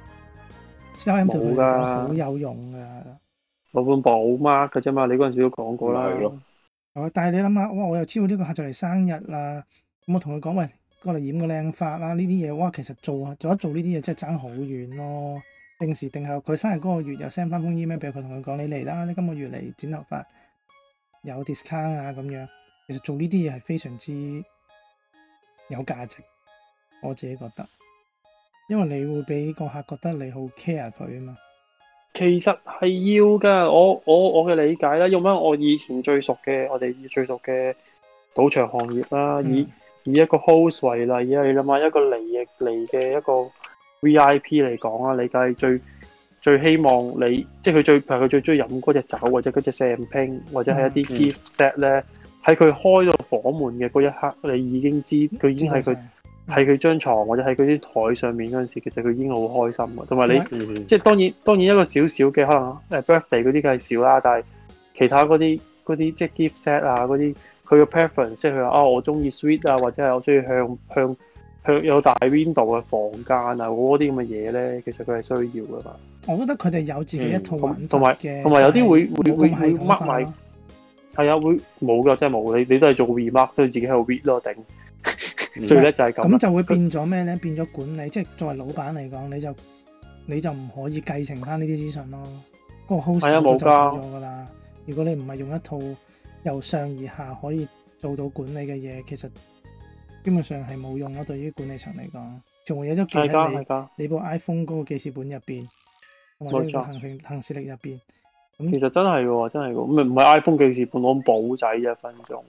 CRM 對佢嚟講好有用噶。 老本寶 mark 嘅啫嘛，你嗰陣時都講過啦。 但係你諗下，哇！我又知道呢個客就嚟生日啦，咁我同佢講，喂，過嚟染個靚髮啦，呢啲嘢，哇！其實做呢啲嘢真係爭好遠咯。定時定候，佢生日嗰個月又 send 翻封 email 俾佢，同佢講你嚟啦，你今個月嚟剪頭髮有 discount 啊咁樣。其實做呢啲嘢係非常之有價值，我自己覺得，因為你會俾個客覺得你好 care 佢啊嘛。其實係要噶，我嘅理解啦，用翻我以前最熟嘅賭場行業啦，以一個 host 為例啊，你諗下一個嚟嘅一個 VIP 嚟講啊，你梗係最希望你，即係佢最中意飲嗰隻酒或者嗰隻 champagne 或者係一啲 gift set 咧，喺佢開到房門嘅嗰一刻，你已經知佢已經係佢張床或者喺佢啲台上面嗰陣時，其實佢已經好開心嘅。同埋你即係當然一個小小嘅可能birthday 嗰啲梗係少啦，但係其他嗰啲即係 gift set 啊嗰啲，佢嘅 preference 即係佢話我中意 suite 啊，或者係我中意向有大 window 嘅房間啊嗰啲咁嘅嘢咧，其實佢係需要噶嘛。 我覺得佢哋有自己一套玩法嘅， 同埋有啲會 mark 埋，係啊，會冇噶，真係冇。你都係做 remark 都要自己喺度 read 咯，頂。最叻就係咁。咁就會變咗咩咧？變咗管理，即係作為老闆嚟講，你就唔可以繼承翻呢啲資訊咯。嗰個 host 就冇咗噶啦。如果你唔係用一套由上而下可以做到管理嘅嘢，其實基本上係冇用咯。對於管理層嚟講，仲會有咗記喺你部 iPhone 嗰個記事本入邊，或者行事曆入邊。 咁其實真係喎，真係喎，唔係 iPhone 記事本攞簿仔1分鐘。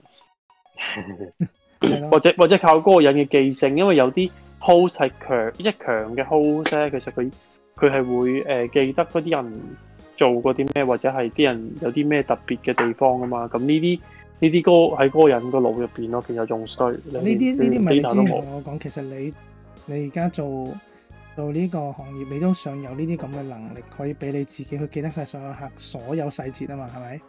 或者靠嗰個人嘅記性，因為有啲 host 係強嘅 host 咧，其實佢係會記得嗰啲人做過啲咩，或者係啲人有啲咩特別嘅地方噶嘛。咁呢啲歌喺嗰個人個腦入邊咯，其實仲衰。呢啲咪你之前同我講，其實你而家做呢個行業，你都想有呢啲咁嘅能力，可以俾你自己去記得晒所有客所有細節啊嘛，係咪？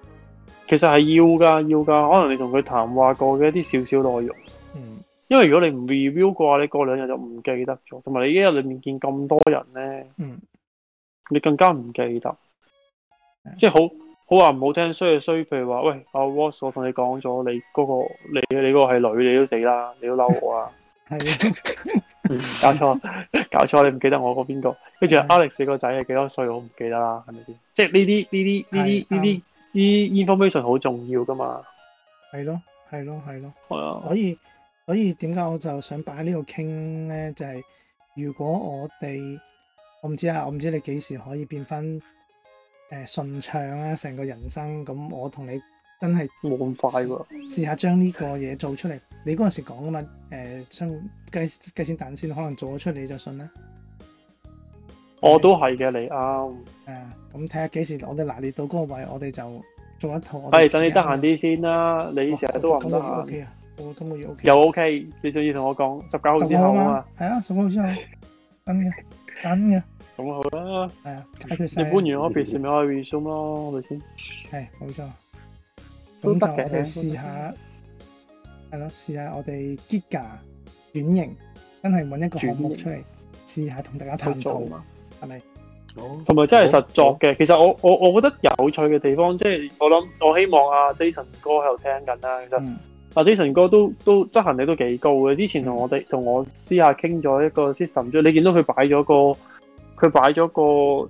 其實係要㗎，可能你同佢談話過嘅一啲少少內容。因為如果你唔 review 嘅話，你過2日就唔記得咗，同埋你一日裏面見咁多人咧，你更加唔記得。即係好話唔好聽，衰就衰，譬如話，喂，阿 Ross，我同你講咗，你嗰個你嗰個係女，你都死啦，你都嬲我啊！搞錯，你唔記得我嗰邊個？跟住 Alex 個仔係幾多歲？我唔記得啦，係咪先？即係呢啲 information 好重要噶嘛？ 係咯。 係啊。 所以點解我就想擺呢度傾咧？就係如果我唔知你幾時可以變翻順暢啊，成個人生咁，我同你真係冇咁快喎。 試下將呢個嘢做出嚟。你嗰陣時講噶嘛？將雞先蛋先，可能做咗出嚟你就信啦。 我都係嘅，你啱。 咁睇下幾時我哋拿捏到嗰個位，我哋就做一套。 等你得閒啲先啦。你成日都話唔得閒。 OK 啊，我今個月 OK。 又 OK，你仲要同我講19號之後啊嘛？ 係啊，19號之後等嘅。咁好啦。 係啊，解決晒。 你搬完 office 咪可以 resume 咯，係咪先？ 係，冇錯。咁就我哋試下，係咯，試下我哋 Giga 轉型，真係揾一個項目出嚟，試下同大家探討，係咪？ 同埋真係實作嘅。其實我覺得有趣嘅地方，即係我希望阿 Jason 哥喺度聽緊啦。其實阿 Jason 哥都執行力都幾高嘅。之前同我私下傾咗一個 system， 你見到佢擺咗個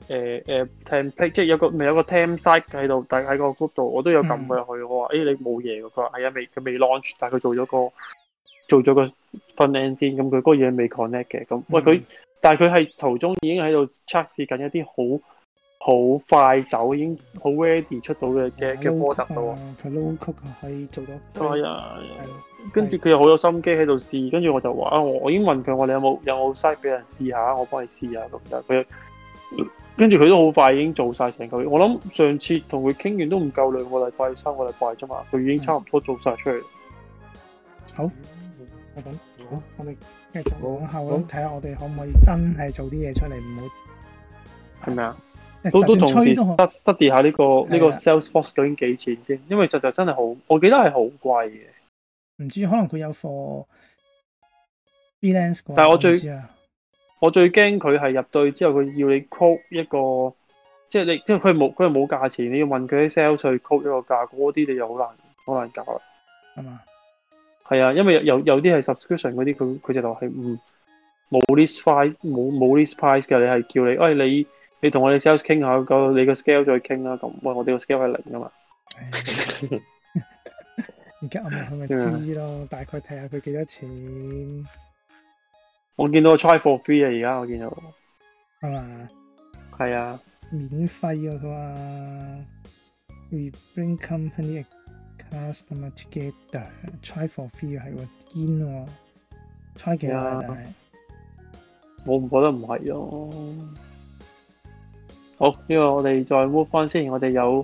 template， 即係有個 temp site 喺度，但喺個 group 度，我都有撳佢去。我話你冇嘢㗎，佢話係啊，佢未 launch， 但係佢做咗個 front end 先，咁佢嗰個嘢未 connect 嘅。咁喂但係佢係途中已經喺度測試緊一啲好快手，已經好 ready 出到嘅 product 咯。 佢 low code 可以做到。 係啊，跟住佢又好有心機喺度試，跟住我就話我已經問佢，你有冇 site 俾人試下，我幫你試下咁。但係跟住佢都好快已經做晒成個月。我諗上次同佢傾完都唔夠2個禮拜、3個禮拜啫嘛，佢已經差唔多做晒出嚟。 好，我哋繼續往後咁睇下，我哋可唔可以真係做啲嘢出嚟，唔好係咪啊？都同時 study 下呢個 Salesforce 究竟幾錢先，因為就真係好，我記得係好貴嘅。 唔知可能佢有貨 freelance 嘅， 但係我最驚佢係入到去之後，佢要你 quote 一個，即係你，因為佢係冇價錢，你要問佢啲 sales 去 quote 一個價，嗰啲你就好難搞啦， 係嘛？ 係啊，因為有啲係 subscription 嗰啲，佢就係冇 list price 冇 list price 嘅，你係叫你，你同我哋 sales 傾下，你個 scale 再傾啦。咁喂，我哋個 scale 係0噶嘛？ 而家我咪知咯，大概睇下佢幾多錢。 我見到 try for free 啊，而家我見到係嘛？係啊， 免費啊，佢話 We bring company customer together try for free 係喎，堅喎 try 幾耐？但係我唔覺得唔係咯。好，呢個我哋再 move 翻先，我哋有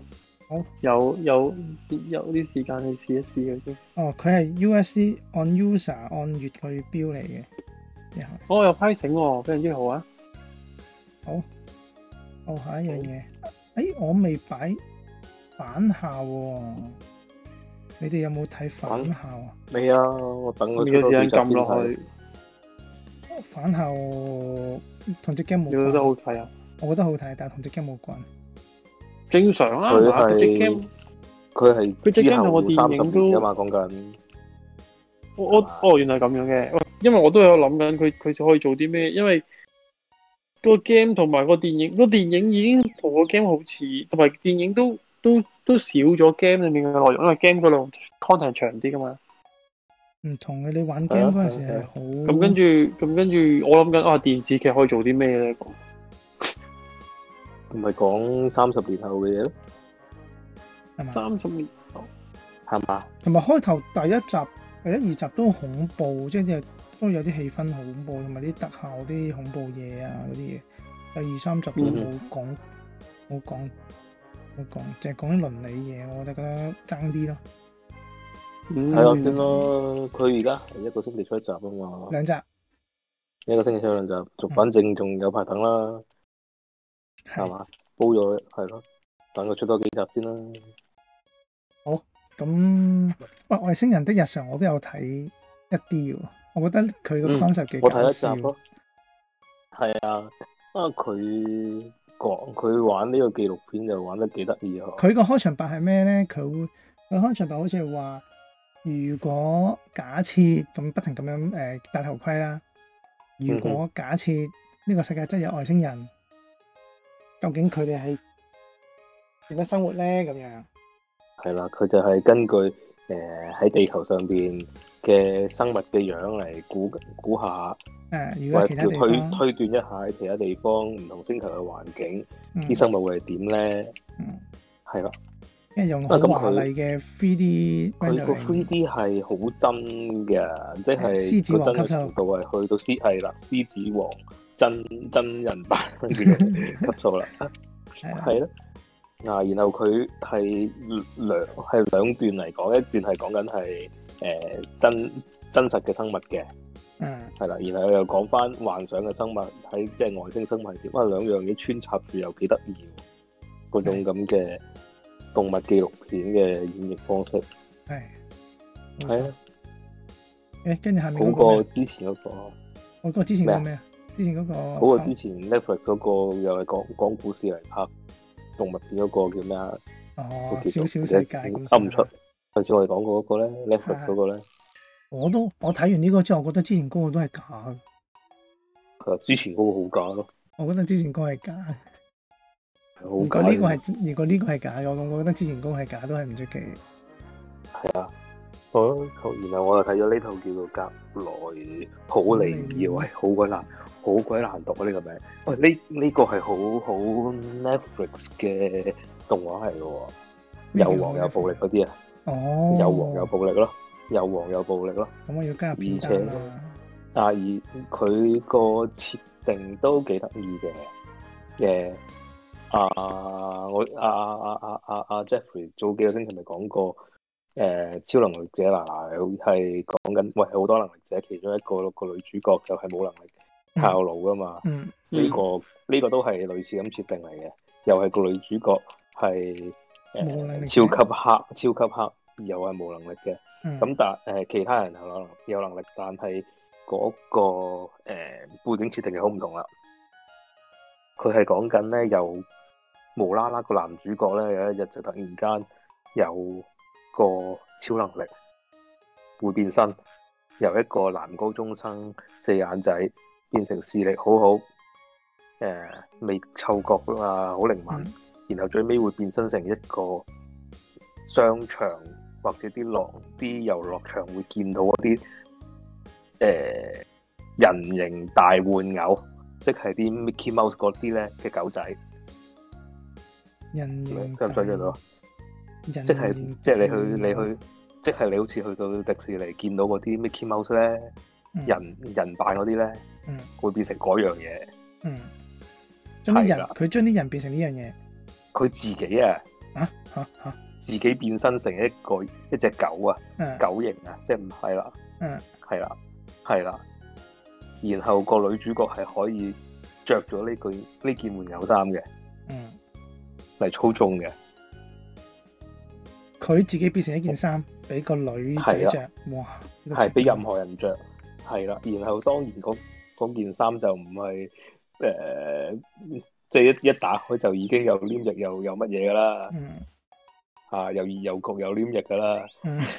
啲時間去試一試嘅先。 佢係 USC on user 按月去標嚟嘅。 有批請喎，非常之好啊！ 好，下一樣嘢。我未擺返校喎，你哋有冇睇返校啊？ 未啊，我等佢有時間撳落去。 返校同隻 game 冇關。 你覺得好睇啊？ 我覺得好睇，但係同隻 game 冇關。 正常啊， 佢隻 game 佢隻 game 同個電影都㗎嘛，講緊。原來咁樣嘅，因為我都有諗緊佢就可以做啲咩，因為個 game 同埋個電影已經同個 game 好似，同埋電影都少咗 game 裏面嘅內容，因為 game 嗰度 content 長啲噶嘛。唔同嘅，你玩 game 嗰陣時係好。 咁跟住，我諗緊電視劇可以做啲咩咧？ 唔係講30年後嘅嘢咯， 係嘛 ？30年後係嘛？ 同埋開頭第一集、第1、2集都恐怖，即係都有啲氣氛好恐怖，同埋啲特效啲恐怖嘢啊嗰啲嘢。第2、3集都冇講，淨係講啲倫理嘢，我覺得爭啲咯。 睇落先咯，佢而家係1個星期出1集啊嘛 ，2集 ，1個星期出2集，反正仲有排等啦。係嘛？煲咗係咯，等佢出多幾集先啦。 好，咁外星人的日常我都有睇一啲喎，我覺得佢個 concept 幾搞笑。 我睇一集咯。係啊，佢玩呢個紀錄片就玩得幾得意啊！ 佢個開場白係咩咧？佢開場白好似係話，如果假設咁不停咁樣戴頭盔啦，如果假設呢個世界真係有外星人，究竟佢哋係點樣生活咧？咁樣係啦，佢就係根據喺地球上邊嘅生物嘅樣嚟估下， 如果其他地方推斷一下喺其他地方唔同星球嘅環境，啲生物會係點咧？係啦， 因為用好華麗嘅 3D， 佢個 3D 係好真嘅，即係獅子王級數度係去到獅子王真人版嘅級數啦，係咯。然後佢係兩段嚟講，一段係講緊係真實嘅生物嘅，係啦，然後又講翻幻想嘅生物喺即係外星生物係點，兩樣嘢穿插住又幾得意，嗰種咁嘅動物紀錄片嘅演繹方式，係啊， 跟住下面好過之前嗰個， 好過之前嗰個咩啊？之前嗰個好過之前 Netflix 嗰個又係講故事嚟拍動物片嗰個叫咩啊？ 小小世界噏唔出。上次我哋講過嗰個咧 Netflix 嗰個咧， 我睇完呢個之後，我覺得之前嗰個都係假嘅。 係啊，之前嗰個好假咯。我覺得之前嗰個係假。如果呢個係假嘅，我覺得之前嗰個係假都係唔出奇。 係啊，然後我又睇咗呢套叫做《格萊普尼爾》，喂，好鬼難讀啊！呢個名，喂，呢個係好 Netflix 嘅動畫嚟嘅喎，有黃有暴力嗰啲啊，有黃有暴力咯，有黃有暴力咯。咁我要加入片單啦。 而佢個設定都幾得意嘅，Jeffrey 早幾個星期咪講過，超能力者係講緊，喂，好多能力者其中一個女主角就係冇能力靠腦噶嘛，呢個都係類似咁設定嚟嘅，又係個女主角係超級黑，又係冇能力嘅，咁但其他人有能力，但係嗰個背景設定係好唔同啦。佢係講緊咧，又無啦啦個男主角咧有一日就突然間有個超能力，會變身，由一個男高中生四眼仔變成視力好好，味嗅覺啊好靈敏，然後最尾會變身成一個商場或者啲遊樂場會見到嗰啲人形大玩偶，即係啲 Mickey Mouse 嗰啲咧嘅狗仔。 人形想唔想像到？即係你去，即係你好似去到迪士尼見到嗰啲 Mickey Mouse 咧，人扮嗰啲咧，會變成嗰樣嘢。 佢將啲人變成呢樣嘢。 佢自己自己變身成一隻狗啊，狗型啊，即係唔係啦。係啦。然後個女主角係可以着咗呢件玩偶衫嘅，嚟操縱嘅。 佢自己變成一件衫，俾個女仔着，哇！ 係俾任何人着，係啦。然後當然嗰件衫就唔係即係一打開就已經有黏液又有乜嘢噶啦，又熱又焗又黏液噶啦，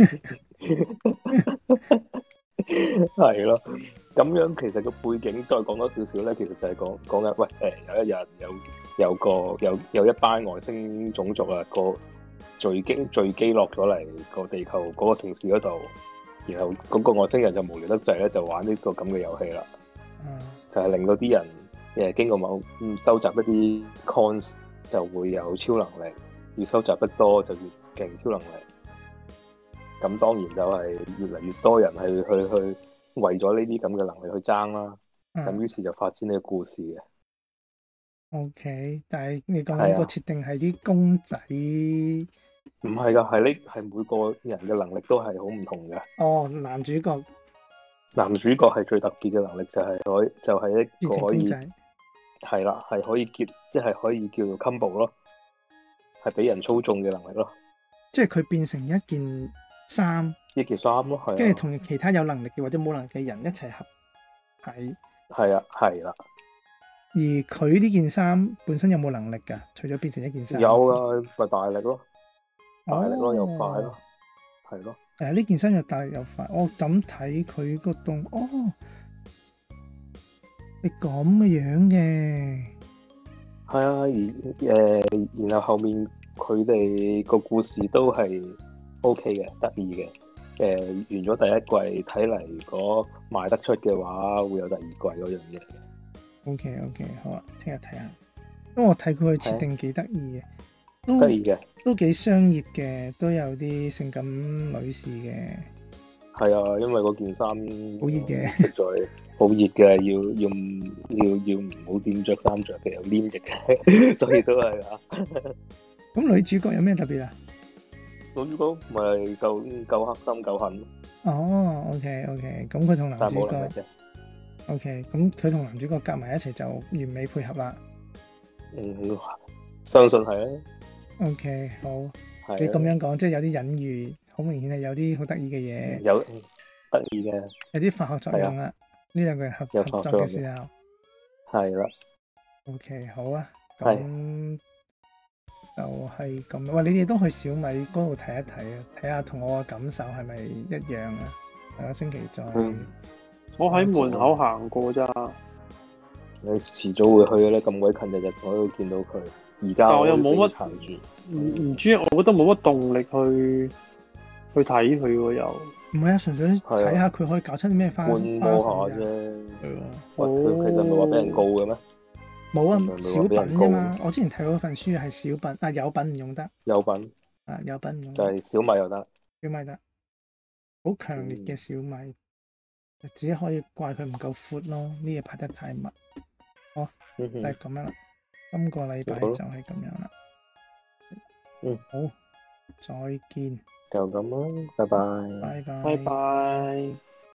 係咯。咁樣其實個背景再講多少少咧，其實就係講緊，喂，有一日有一班外星種族啊，個墜機落咗嚟個地球嗰個城市嗰度，然後嗰個外星人就無聊得滯咧，就玩呢個咁嘅遊戲啦，就係令到啲人經過收集一啲 coins 就會有超能力，越收集得多就越勁超能力。咁當然就係越嚟越多人去為咗呢啲咁嘅能力去爭啦，咁於是就發展呢個故事嘅。 OK， 但係你講緊個設定係啲公仔， 唔係㗎，係每個人嘅能力都係好唔同嘅。 男主角係最特別嘅能力就係一個可以係啦，係可以即係可以叫做 combo 咯，係俾人操縱嘅能力咯。 即係佢變成一件衫， 一件衫咯，係。 跟住同其他有能力嘅或者冇能力嘅人一齊合體。 係啊，係啦。 而佢呢件衫本身有冇能力㗎？除咗變成一件衫， 有啊，咪大力咯，大力咯，又快咯，係咯。 呢件衫又大力又快。我咁睇佢個動，你咁嘅樣嘅。 係啊，然後後面佢哋個故事都係 OK 嘅，得意嘅。完咗第一季，睇嚟如果賣得出嘅話，會有第二季嗰樣嘢嚟嘅。 OK， 好啊，聽日睇下。因為我睇佢嘅設定幾得意嘅， 得意嘅， 都幾商業嘅，都有啲性感女士嘅。 係啊，因為嗰件衫好熱嘅， 實在好熱嘅，要唔好點着衫着嘅，有黏液嘅，所以都係啊。 咁女主角有咩特別啊？ 女主角咪夠黑心夠狠。 哦，OK， 咁佢同男主角。OK， 咁佢同男主角夾埋一齊就完美配合啦。 相信係啊。 OK， 好。你咁樣講，即係有啲隱喻，好明顯係有啲好得意嘅嘢。 有得意嘅。有啲化學作用啦。呢兩個人合作嘅時候。 係啦。 OK， 好啊。咁就係咁。喂，你哋都去小米嗰度睇一睇啊，睇下同我嘅感受係咪一樣啊？下個星期再。 我喺門口行過咋。 你遲早會去嘅咧，咁鬼近日我都見到佢。而家我又冇乜行住，唔知，我覺得冇乜動力去睇佢喎又。 唔係啊，純粹睇下佢可以搞出啲咩花神啫。係佢其實唔係話俾人告嘅咩？ 冇啊，小品啫嘛。我之前睇過份書係小品，有品唔用得。 有品。 有品唔用得。 就係小米又得。 小米得。好強烈嘅小米。只可以怪佢唔夠闊咯，呢嘢拍得太密。好，就係咁樣啦。今個禮拜就係咁樣啦。好，再見。 就咁啦，拜拜。 拜拜。 拜拜。